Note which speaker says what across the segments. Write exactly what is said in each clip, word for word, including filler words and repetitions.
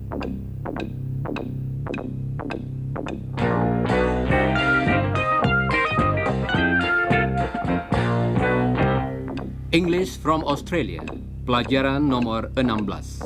Speaker 1: English from Australia, pelajaran nomor enam belas.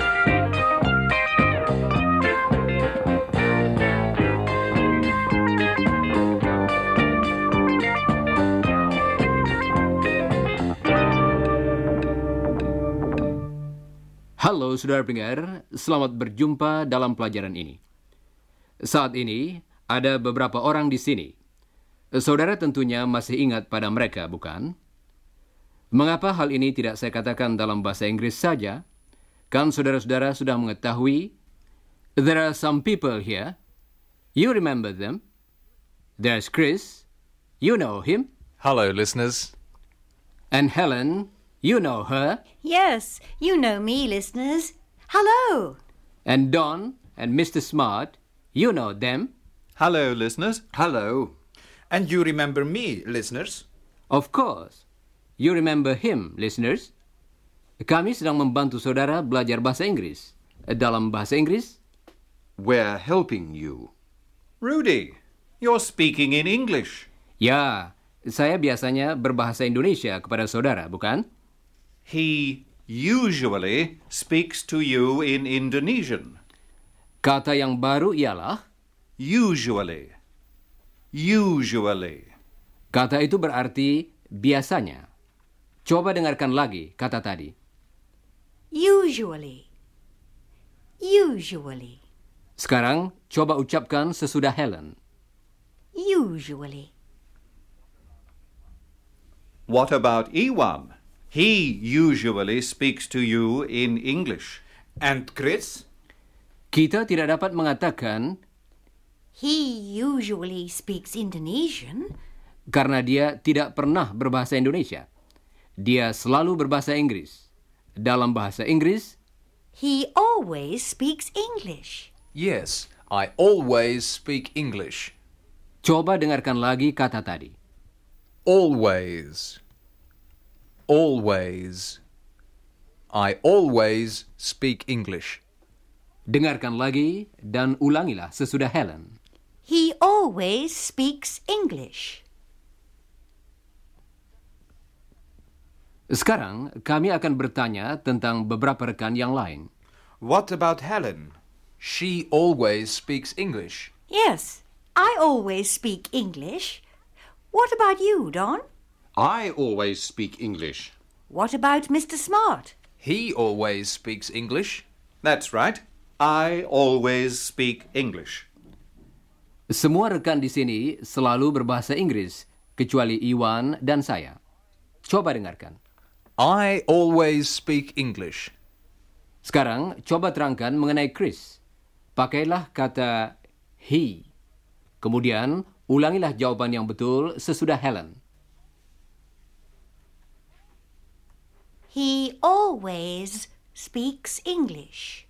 Speaker 1: Halo saudara pendengar, selamat berjumpa dalam pelajaran ini. Saat ini ada beberapa orang di sini. Saudara tentunya masih ingat pada mereka, bukan? Mengapa hal ini tidak saya katakan dalam bahasa Inggris saja? Kan saudara-saudara sudah mengetahui, there are some people here. You remember them. There's Chris. You know him.
Speaker 2: Hello, listeners.
Speaker 1: And Helen. You know her.
Speaker 3: Yes, you know me, listeners. Hello.
Speaker 1: And Don and Mister Smart. You know them.
Speaker 4: Hello, listeners.
Speaker 5: Hello. And you remember me, listeners?
Speaker 1: Of course. You remember him, listeners. Kami sedang membantu saudara belajar bahasa Inggris. Dalam bahasa Inggris,
Speaker 5: We're helping you.
Speaker 4: Rudy, you're speaking in English.
Speaker 1: ya, saya biasanya berbahasa Indonesia kepada saudara, bukan?
Speaker 4: He usually speaks to you in Indonesian.
Speaker 1: Kata yang baru ialah,
Speaker 4: Usually. Usually.
Speaker 1: kata itu berarti biasanya. Coba dengarkan lagi kata tadi.
Speaker 3: Usually. Usually.
Speaker 1: Sekarang, coba ucapkan sesudah Helen.
Speaker 3: Usually.
Speaker 4: What about Iwan? He usually speaks to you in English.
Speaker 5: And Chris?
Speaker 1: Kita tidak dapat mengatakan
Speaker 3: He usually speaks Indonesian.
Speaker 1: karena dia tidak pernah berbahasa Indonesia. Dia selalu berbahasa Inggris. Dalam bahasa Inggris,
Speaker 3: He always speaks English.
Speaker 2: Yes, I always speak English.
Speaker 1: coba dengarkan lagi kata tadi.
Speaker 2: Always. Always. I always speak English.
Speaker 1: Dengarkan lagi dan ulangilah sesudah Helen.
Speaker 3: He always speaks English.
Speaker 1: Sekarang, kami akan bertanya tentang beberapa rekan yang lain.
Speaker 5: What about Helen?
Speaker 2: She always speaks English.
Speaker 3: Yes, I always speak English. What about you, Don?
Speaker 5: I always speak English.
Speaker 3: What about Mister Smart?
Speaker 2: He always speaks English.
Speaker 4: That's right. I always speak English.
Speaker 1: Semua rekan di sini selalu berbahasa Inggris, kecuali Iwan dan saya. Coba dengarkan.
Speaker 2: I always speak English.
Speaker 1: Sekarang, coba terangkan mengenai Chris. Pakailah kata he. Kemudian, ulangilah jawaban yang betul sesudah Helen.
Speaker 3: He always speaks English.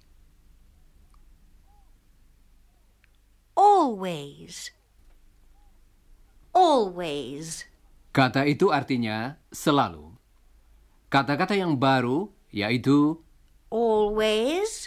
Speaker 3: Always. Always.
Speaker 1: Kata itu artinya selalu. Kata-kata yang baru yaitu
Speaker 3: Always.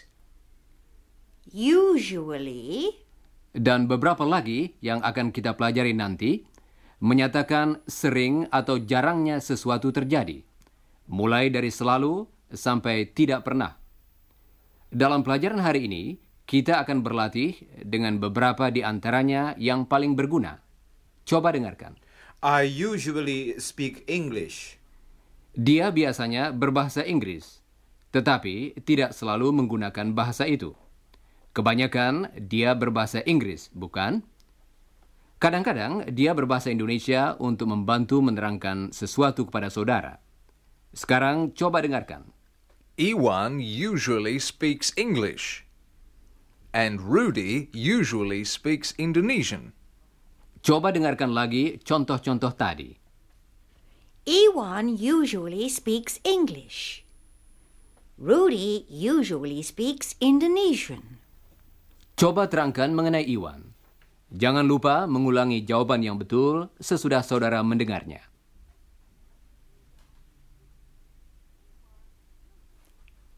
Speaker 3: Usually.
Speaker 1: dan beberapa lagi yang akan kita pelajari nanti menyatakan sering atau jarangnya sesuatu terjadi. Mulai dari selalu sampai tidak pernah. Dalam pelajaran hari ini, kita akan berlatih dengan beberapa di antaranya yang paling berguna. Coba dengarkan.
Speaker 5: I usually speak English.
Speaker 1: Dia biasanya berbahasa Inggris, tetapi tidak selalu menggunakan bahasa itu. Kebanyakan dia berbahasa Inggris, bukan? Kadang-kadang dia berbahasa Indonesia untuk membantu menerangkan sesuatu kepada saudara. Sekarang coba dengarkan.
Speaker 2: Iwan usually speaks English. And Rudy usually speaks Indonesian.
Speaker 1: Coba dengarkan lagi contoh-contoh tadi.
Speaker 3: Iwan usually speaks English. Rudy usually speaks Indonesian.
Speaker 1: Coba terangkan mengenai Iwan. Jangan lupa mengulangi jawaban yang betul sesudah saudara mendengarnya.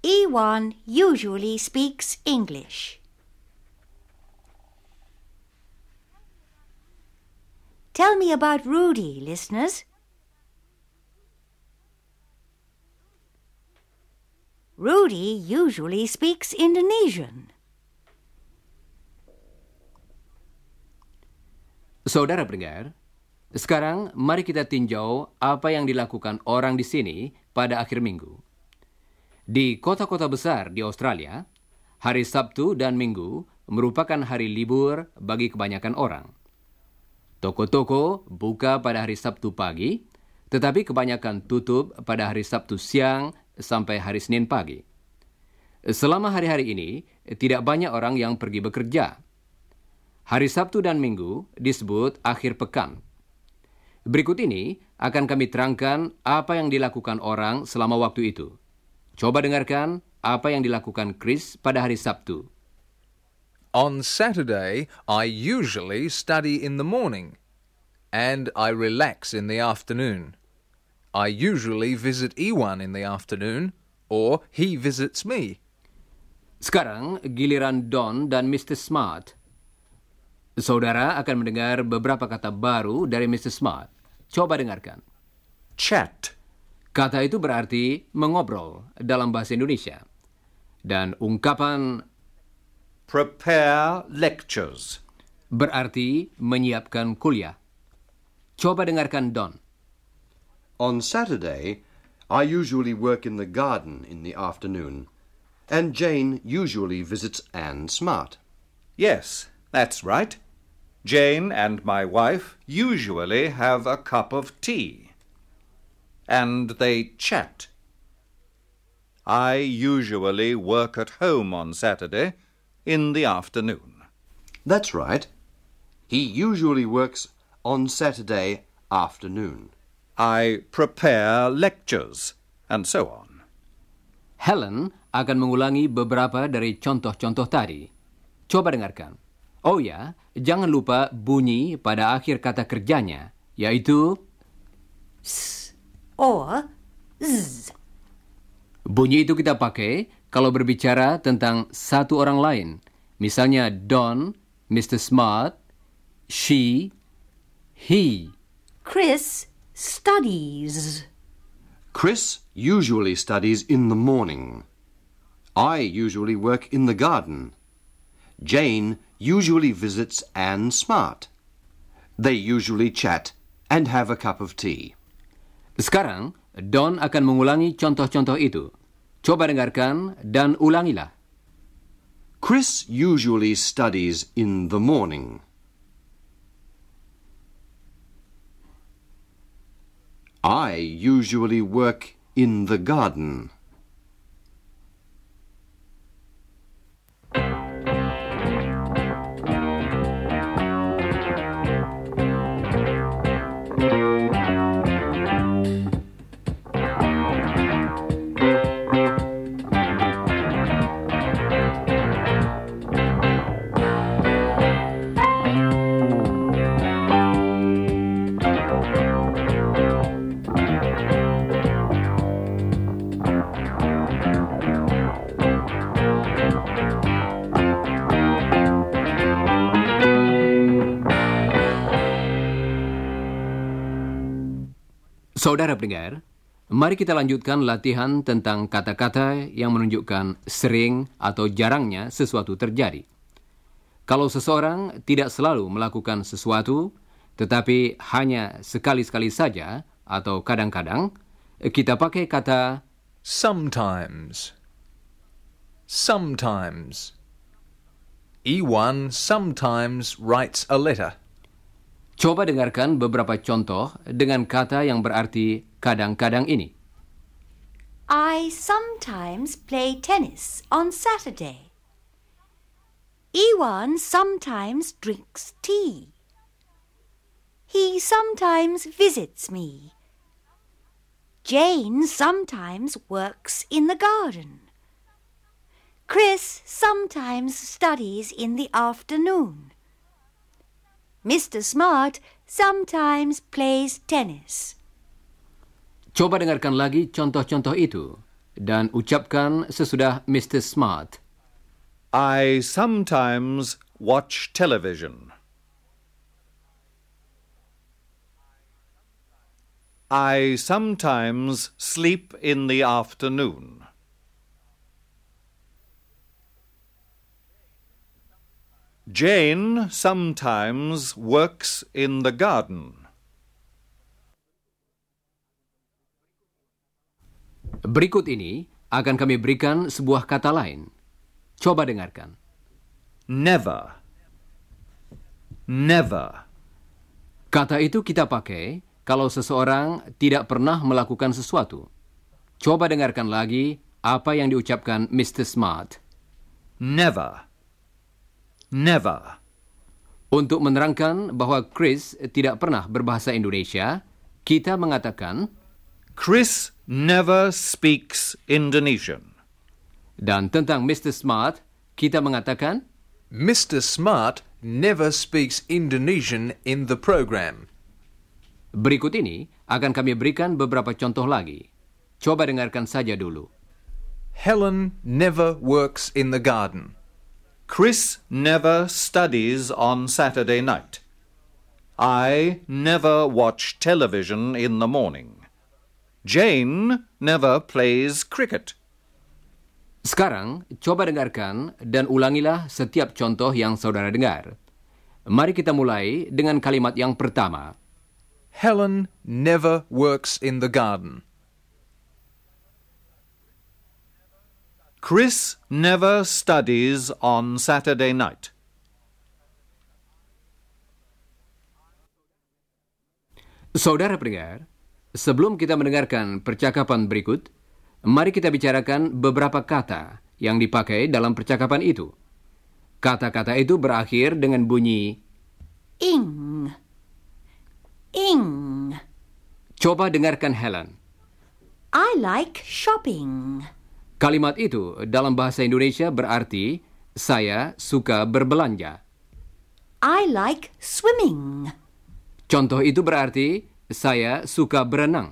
Speaker 3: Iwan usually speaks English. Tell me about Rudy, listeners. Rudy usually speaks Indonesian.
Speaker 1: Saudara pendengar, sekarang mari kita tinjau apa yang dilakukan orang di sini pada akhir minggu. Di kota-kota besar di Australia, hari Sabtu dan Minggu merupakan hari libur bagi kebanyakan orang. Toko-toko buka pada hari Sabtu pagi, tetapi kebanyakan tutup pada hari Sabtu siang sampai hari Senin pagi. Selama hari-hari ini, tidak banyak orang yang pergi bekerja. Hari Sabtu dan Minggu disebut akhir pekan. Berikut ini akan kami terangkan apa yang dilakukan orang selama waktu itu. Coba dengarkan apa yang dilakukan Chris pada hari Sabtu.
Speaker 2: On Saturday, I usually study in the morning, and I relax in the afternoon. I usually visit Iwan in the afternoon, or he visits me.
Speaker 1: Sekarang giliran Don dan mister Smart. Saudara akan mendengar beberapa kata baru dari mister Smart. Coba dengarkan.
Speaker 4: Chat.
Speaker 1: Kata itu berarti mengobrol dalam bahasa Indonesia. Dan ungkapan
Speaker 4: Prepare lectures.
Speaker 1: berarti menyiapkan kuliah. Coba dengarkan Don.
Speaker 6: On Saturday, I usually work in the garden in the afternoon, and Jane usually visits Anne Smart.
Speaker 4: Yes, that's right. Jane and my wife usually have a cup of tea. And they chat. I usually work at home on Saturday in the afternoon.
Speaker 6: That's right. He usually works on Saturday afternoon.
Speaker 4: I prepare lectures, and so on.
Speaker 1: Helen akan mengulangi beberapa dari contoh-contoh tadi. Coba dengarkan. Oh ya, jangan lupa bunyi pada akhir kata kerjanya, yaitu
Speaker 3: S or Z.
Speaker 1: bunyi itu kita pakai kalau berbicara tentang satu orang lain. Misalnya Don, mister Smart, she, he.
Speaker 3: Chris studies.
Speaker 6: Chris usually studies in the morning. I usually work in the garden. Jane usually visits Anne Smart. They usually chat and have a cup of tea.
Speaker 1: Sekarang, Don akan mengulangi contoh-contoh itu. Coba dengarkan dan ulangilah.
Speaker 6: Chris usually studies in the morning. I usually work in the garden.
Speaker 1: Saudara pendengar, mari kita lanjutkan latihan tentang kata-kata yang menunjukkan sering atau jarangnya sesuatu terjadi. Kalau seseorang tidak selalu melakukan sesuatu, tetapi hanya sekali-sekali saja atau kadang-kadang, kita pakai kata
Speaker 2: Sometimes. Sometimes. Iwan sometimes writes a letter.
Speaker 1: Coba dengarkan beberapa contoh dengan kata yang berarti kadang-kadang ini.
Speaker 3: I sometimes play tennis on Saturday. Iwan sometimes drinks tea. He sometimes visits me. Jane sometimes works in the garden. Chris sometimes studies in the afternoon. mister Smart sometimes plays tennis.
Speaker 1: Coba dengarkan lagi contoh-contoh itu. dan ucapkan sesudah Mister Smart.
Speaker 4: I sometimes watch television. I sometimes sleep in the afternoon. Jane sometimes works in the garden.
Speaker 1: Berikut ini akan kami berikan sebuah kata lain. Coba dengarkan.
Speaker 4: Never. Never.
Speaker 1: Kata itu kita pakai kalau seseorang tidak pernah melakukan sesuatu. Coba dengarkan lagi apa yang diucapkan Mister Smart.
Speaker 4: Never. Never.
Speaker 1: Untuk menerangkan bahwa Chris tidak pernah berbahasa Indonesia, kita mengatakan
Speaker 4: Chris never speaks Indonesian.
Speaker 1: Dan tentang Mister Smart, kita mengatakan
Speaker 2: Mister Smart never speaks Indonesian in the program.
Speaker 1: Berikut ini akan kami berikan beberapa contoh lagi. Coba dengarkan saja dulu.
Speaker 2: Helen never works in the garden.
Speaker 4: Chris never studies on Saturday night. I never watch television in the morning. Jane never plays cricket.
Speaker 1: Sekarang, coba dengarkan dan ulangilah setiap contoh yang saudara dengar. Mari kita mulai dengan kalimat yang pertama.
Speaker 2: Helen never works in the garden.
Speaker 4: Chris never studies on Saturday night.
Speaker 1: Saudara pendengar, sebelum kita mendengarkan percakapan berikut, mari kita bicarakan beberapa kata yang dipakai dalam percakapan itu. Kata-kata itu berakhir dengan bunyi
Speaker 3: ing. Ing.
Speaker 1: Coba dengarkan Helen.
Speaker 3: I like shopping.
Speaker 1: Kalimat itu dalam bahasa Indonesia berarti saya suka berbelanja.
Speaker 3: I like swimming.
Speaker 1: Contoh itu berarti saya suka berenang.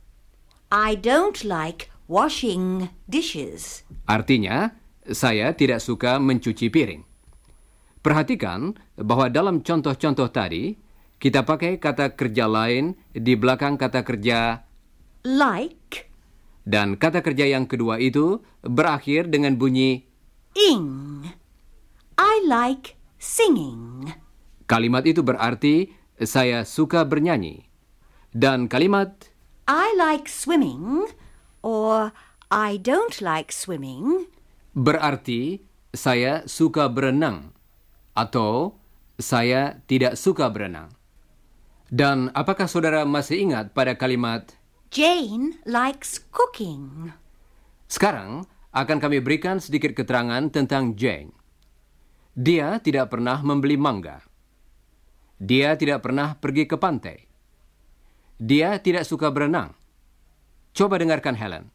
Speaker 3: I don't like washing dishes.
Speaker 1: Artinya, saya tidak suka mencuci piring. Perhatikan bahwa dalam contoh-contoh tadi, kita pakai kata kerja lain di belakang kata kerja
Speaker 3: Like.
Speaker 1: dan kata kerja yang kedua itu berakhir dengan bunyi
Speaker 3: Ing. I like singing.
Speaker 1: kalimat itu berarti saya suka bernyanyi. Dan kalimat
Speaker 3: I like swimming or I don't like swimming
Speaker 1: berarti saya suka berenang atau saya tidak suka berenang. Dan apakah saudara masih ingat pada kalimat
Speaker 3: Jane likes cooking.
Speaker 1: Sekarang akan kami berikan sedikit keterangan tentang Jane. Dia tidak pernah membeli mangga. Dia tidak pernah pergi ke pantai. Dia tidak suka berenang. Coba dengarkan Helen.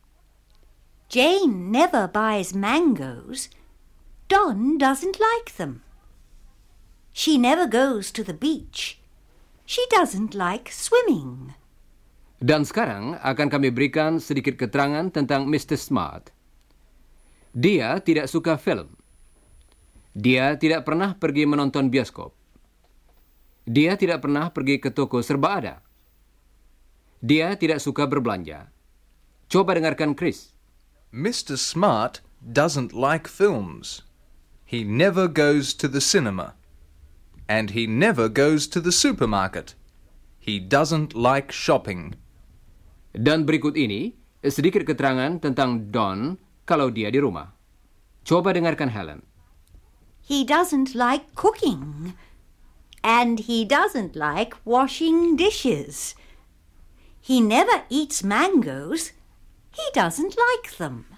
Speaker 3: Jane never buys mangoes. Don doesn't like them. She never goes to the beach. She doesn't like swimming.
Speaker 1: Dan sekarang akan kami berikan sedikit keterangan tentang Mister Smart. Dia tidak suka film. Dia tidak pernah pergi menonton bioskop. Dia tidak pernah pergi ke toko serba ada. Dia tidak suka berbelanja. Coba dengarkan Chris.
Speaker 2: Mister Smart doesn't like films. He never goes to the cinema. And he never goes to the supermarket. He doesn't like shopping.
Speaker 1: Dan berikut ini sedikit keterangan tentang Don kalau dia di rumah. Coba dengarkan Helen.
Speaker 3: He doesn't like cooking. And he doesn't like washing dishes. He never eats mangoes. He doesn't like them.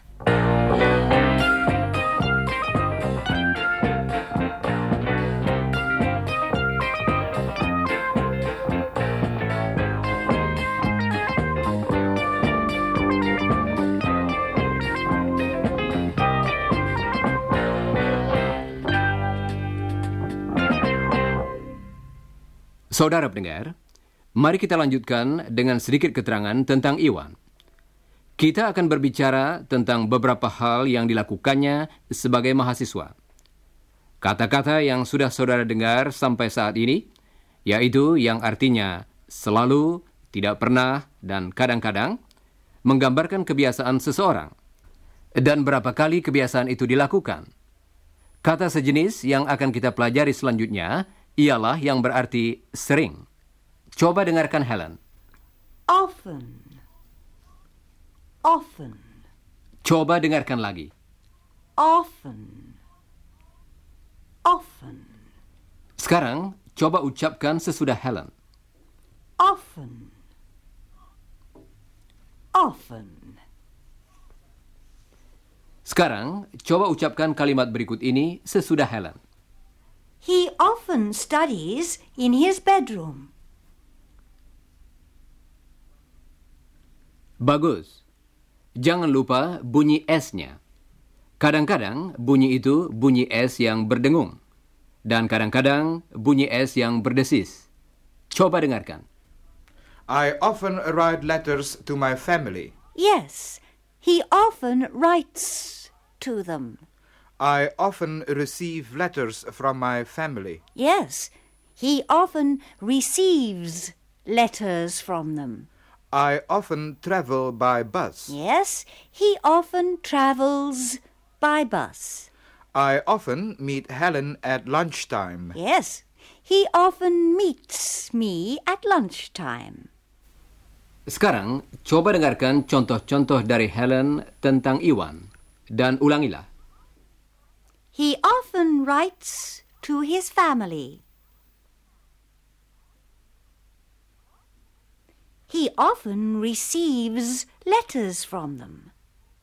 Speaker 1: Saudara pendengar, mari kita lanjutkan dengan sedikit keterangan tentang Iwan. Kita akan berbicara tentang beberapa hal yang dilakukannya sebagai mahasiswa. Kata-kata yang sudah saudara dengar sampai saat ini, yaitu yang artinya selalu, tidak pernah, dan kadang-kadang, menggambarkan kebiasaan seseorang. Dan berapa kali kebiasaan itu dilakukan. Kata sejenis yang akan kita pelajari selanjutnya ialah yang berarti sering. Coba dengarkan Helen.
Speaker 3: Often. Often.
Speaker 1: Coba dengarkan lagi.
Speaker 3: Often. Often.
Speaker 1: Sekarang, coba ucapkan sesudah Helen.
Speaker 3: Often. Often.
Speaker 1: Sekarang, coba ucapkan kalimat berikut ini sesudah Helen.
Speaker 3: He often studies in his bedroom.
Speaker 1: Bagus. Jangan lupa bunyi S-nya. Kadang-kadang bunyi itu bunyi S yang berdengung. Dan kadang-kadang bunyi S yang berdesis. Coba dengarkan.
Speaker 5: I often write letters to my family.
Speaker 3: Yes, he often writes to them.
Speaker 5: I often receive letters from my family.
Speaker 3: Yes, he often receives letters from them.
Speaker 5: I often travel by bus.
Speaker 3: Yes, he often travels by bus.
Speaker 5: I often meet Helen at lunchtime.
Speaker 3: Yes, he often meets me at lunchtime.
Speaker 1: Sekarang, coba dengarkan contoh-contoh dari Helen tentang Iwan. Dan ulangilah.
Speaker 3: He often writes to his family. He often receives letters from them.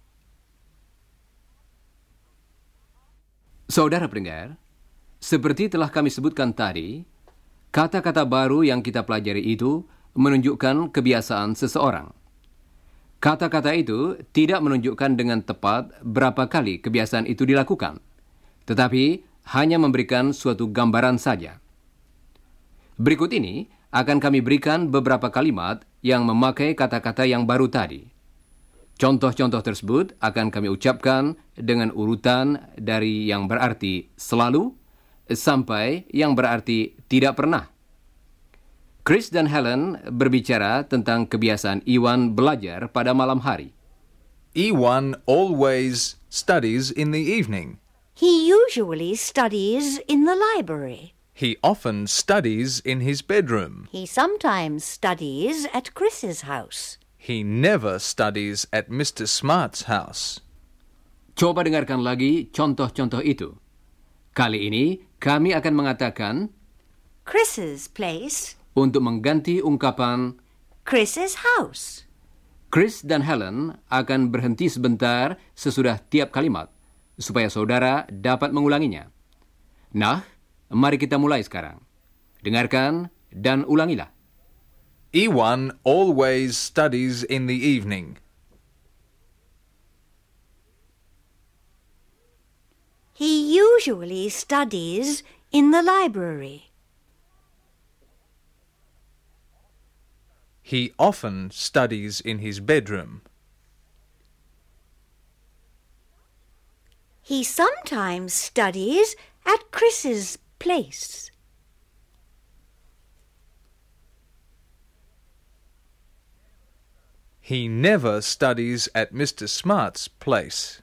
Speaker 1: Saudara pendengar, seperti telah kami sebutkan tadi, kata-kata baru yang kita pelajari itu menunjukkan kebiasaan seseorang. Kata-kata itu tidak menunjukkan dengan tepat berapa kali kebiasaan itu dilakukan, tetapi hanya memberikan suatu gambaran saja. Berikut ini akan kami berikan beberapa kalimat yang memakai kata-kata yang baru tadi. Contoh-contoh tersebut akan kami ucapkan dengan urutan dari yang berarti selalu sampai yang berarti tidak pernah. Chris dan Helen berbicara tentang kebiasaan Iwan belajar pada malam hari.
Speaker 2: Iwan always studies in the evening.
Speaker 3: He usually studies in the library.
Speaker 2: He often studies in his bedroom.
Speaker 3: He sometimes studies at Chris's house.
Speaker 2: He never studies at Mister Smart's house.
Speaker 1: Coba dengarkan lagi contoh-contoh itu. Kali ini kami akan mengatakan
Speaker 3: Chris's place.
Speaker 1: Untuk mengganti ungkapan
Speaker 3: Chris's house.
Speaker 1: Chris dan Helen akan berhenti sebentar sesudah tiap kalimat, supaya saudara dapat mengulanginya. Nah, mari kita mulai sekarang. Dengarkan dan ulangilah.
Speaker 2: Iwan always studies in the evening.
Speaker 3: He usually studies in the library.
Speaker 2: He often studies in his bedroom.
Speaker 3: He sometimes studies at Chris's place.
Speaker 2: He never studies at Mister Smart's place.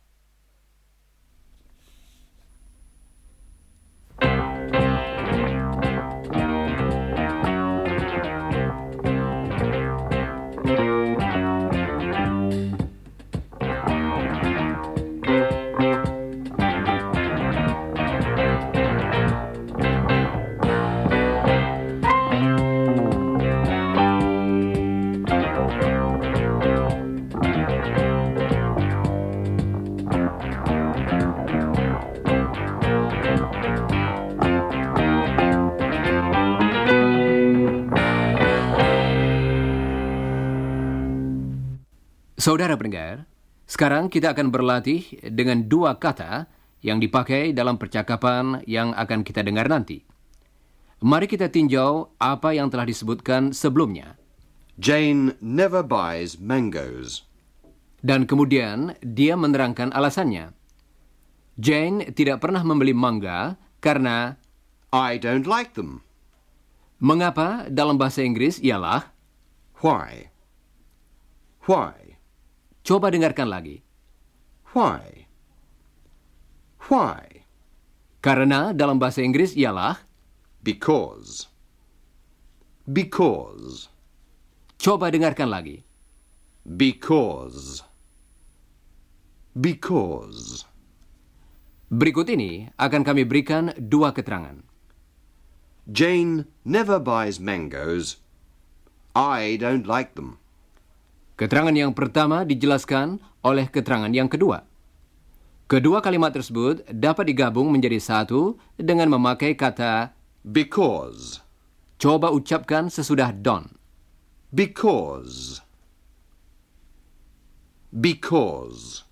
Speaker 1: Saudara pendengar, sekarang kita akan berlatih dengan dua kata yang dipakai dalam percakapan yang akan kita dengar nanti. Mari kita tinjau apa yang telah disebutkan sebelumnya.
Speaker 6: Jane never buys mangoes.
Speaker 1: Dan kemudian dia menerangkan alasannya. Jane tidak pernah membeli mangga karena
Speaker 6: I don't like them.
Speaker 1: mengapa dalam bahasa Inggris ialah
Speaker 6: Why? Why?
Speaker 1: coba dengarkan lagi.
Speaker 6: Why? Why?
Speaker 1: Karena dalam bahasa Inggris ialah
Speaker 6: Because. Because.
Speaker 1: coba dengarkan lagi.
Speaker 6: Because. Because.
Speaker 1: Berikut ini akan kami berikan dua keterangan.
Speaker 6: Jane never buys mangoes. I don't like them.
Speaker 1: Keterangan yang pertama dijelaskan oleh keterangan yang kedua. Kedua kalimat tersebut dapat digabung menjadi satu dengan memakai kata
Speaker 6: Because.
Speaker 1: coba ucapkan sesudah don.
Speaker 6: Because. Because.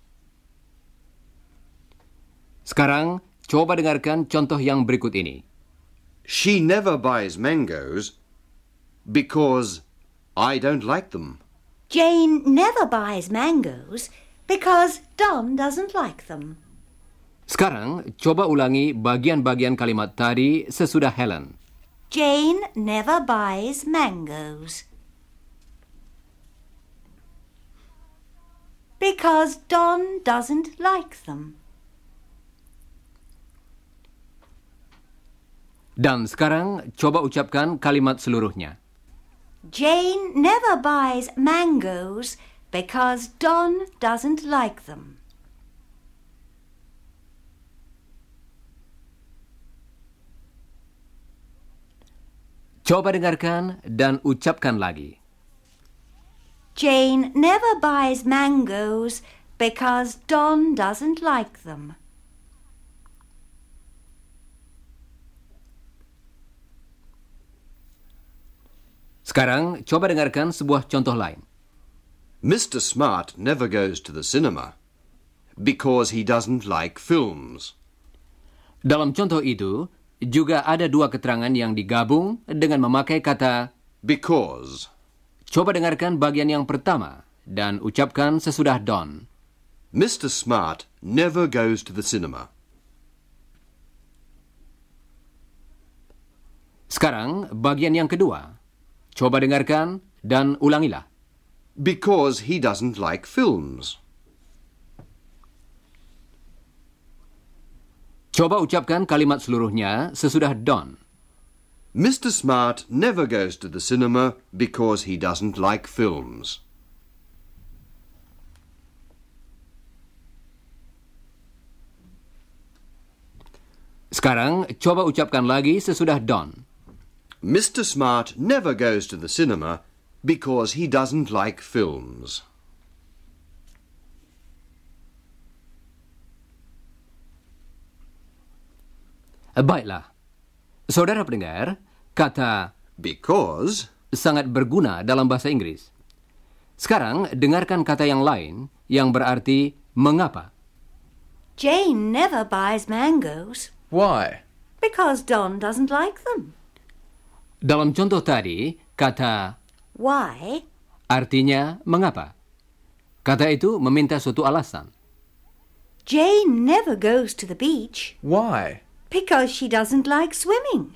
Speaker 1: Sekarang coba dengarkan contoh yang berikut ini.
Speaker 6: She never buys mangoes because I don't like them.
Speaker 3: Jane never buys mangoes because Don doesn't like them.
Speaker 1: Sekarang coba ulangi bagian-bagian kalimat tadi sesudah Helen.
Speaker 3: Jane never buys mangoes because Don doesn't like them.
Speaker 1: Dan sekarang coba ucapkan kalimat seluruhnya.
Speaker 3: Jane never buys mangoes because Don doesn't like them.
Speaker 1: Coba dengarkan dan ucapkan lagi.
Speaker 3: Jane never buys mangoes because Don doesn't like them.
Speaker 1: Sekarang coba dengarkan sebuah contoh lain.
Speaker 6: Mister Smart never goes to the cinema because he doesn't like films.
Speaker 1: Dalam contoh itu, juga ada dua keterangan yang digabung dengan memakai kata
Speaker 6: Because.
Speaker 1: coba dengarkan bagian yang pertama dan ucapkan sesudah Don.
Speaker 6: Mister Smart never goes to the cinema.
Speaker 1: Sekarang bagian yang kedua. Coba dengarkan dan ulangilah.
Speaker 6: Because he doesn't like films.
Speaker 1: Coba ucapkan kalimat seluruhnya sesudah Don.
Speaker 6: Mister Smart never goes to the cinema because he doesn't like films.
Speaker 1: Sekarang coba ucapkan lagi sesudah Don.
Speaker 6: Mister Smart never goes to the cinema because he doesn't like films.
Speaker 1: Baiklah. Saudara pendengar, kata
Speaker 6: Because
Speaker 1: sangat berguna dalam bahasa Inggris. Sekarang dengarkan kata yang lain yang berarti mengapa.
Speaker 3: Jane never buys mangoes
Speaker 2: Why?
Speaker 3: because Don doesn't like them.
Speaker 1: Dalam contoh tadi, kata
Speaker 3: Why?
Speaker 1: artinya mengapa. Kata itu meminta suatu alasan.
Speaker 3: Jane never goes to the beach
Speaker 2: Why?
Speaker 3: because she doesn't like swimming.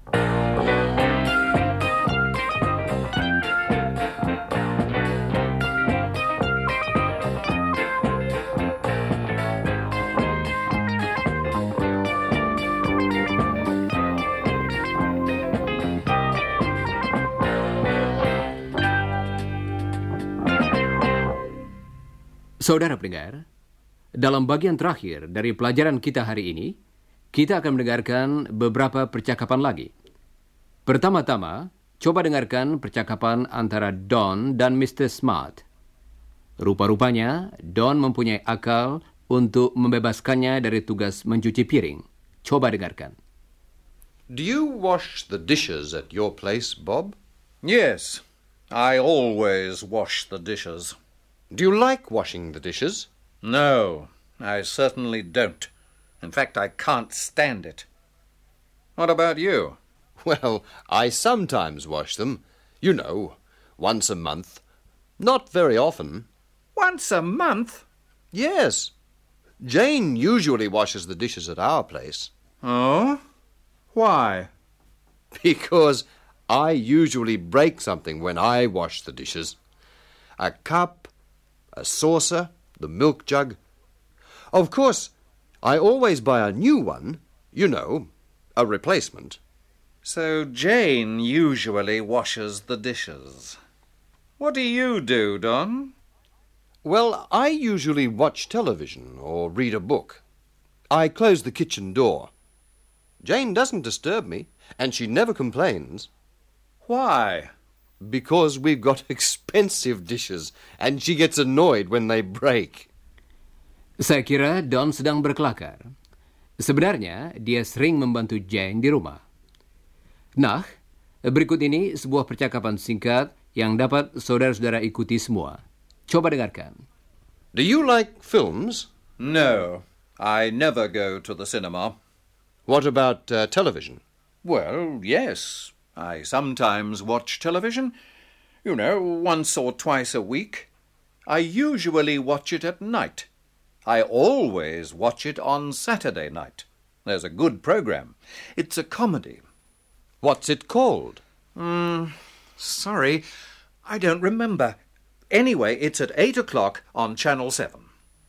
Speaker 1: Saudara pendengar, dalam bagian terakhir dari pelajaran kita hari ini, kita akan mendengarkan beberapa percakapan lagi. Pertama-tama, coba dengarkan percakapan antara Don dan Mister Smart. Rupa-rupanya, Don mempunyai akal untuk membebaskannya dari tugas mencuci piring. Coba dengarkan.
Speaker 4: Do you wash the dishes at your place, Bob?
Speaker 5: Yes, I always wash the dishes.
Speaker 6: Do you like washing the dishes?
Speaker 5: No, I certainly don't. In fact, I can't stand it. What about you?
Speaker 6: Well, I sometimes wash them. You know, once a month. Not very often.
Speaker 5: Once a month?
Speaker 6: Yes. Jane usually washes the dishes at our place.
Speaker 5: Oh? Why?
Speaker 6: Because I usually break something when I wash the dishes. A cup, a saucer, the milk jug. Of course, I always buy a new one, you know, a replacement.
Speaker 5: So Jane usually washes the dishes. What do you do, Don?
Speaker 6: Well, I usually watch television or read a book. I close the kitchen door. Jane doesn't disturb me, and she never complains.
Speaker 5: Why?
Speaker 6: Because we've got expensive dishes, and she gets annoyed when they break.
Speaker 1: Saya kira Don sedang berkelakar. Sebenarnya, dia sering membantu Jane di rumah. Nah, berikut ini sebuah percakapan singkat yang dapat saudara-saudara ikuti semua. Coba dengarkan.
Speaker 6: Do you like films?
Speaker 5: No, I never go to the cinema.
Speaker 6: What about uh, television?
Speaker 5: Well, yes. I sometimes watch television. You know, once or twice a week. I usually watch it at night. I always watch it on Saturday night. There's a good program. It's a comedy.
Speaker 6: What's it called?
Speaker 5: Hmm, sorry, I don't remember. Anyway, it's at eight o'clock on Channel seven.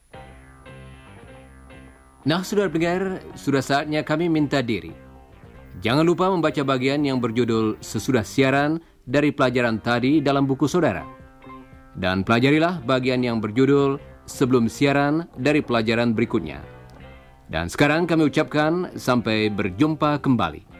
Speaker 1: Nah, saudara pendengar, sudah saatnya kami minta diri. Jangan lupa membaca bagian yang berjudul sesudah siaran dari pelajaran tadi dalam buku saudara. Dan pelajarilah bagian yang berjudul sebelum siaran dari pelajaran berikutnya. Dan sekarang kami ucapkan sampai berjumpa kembali.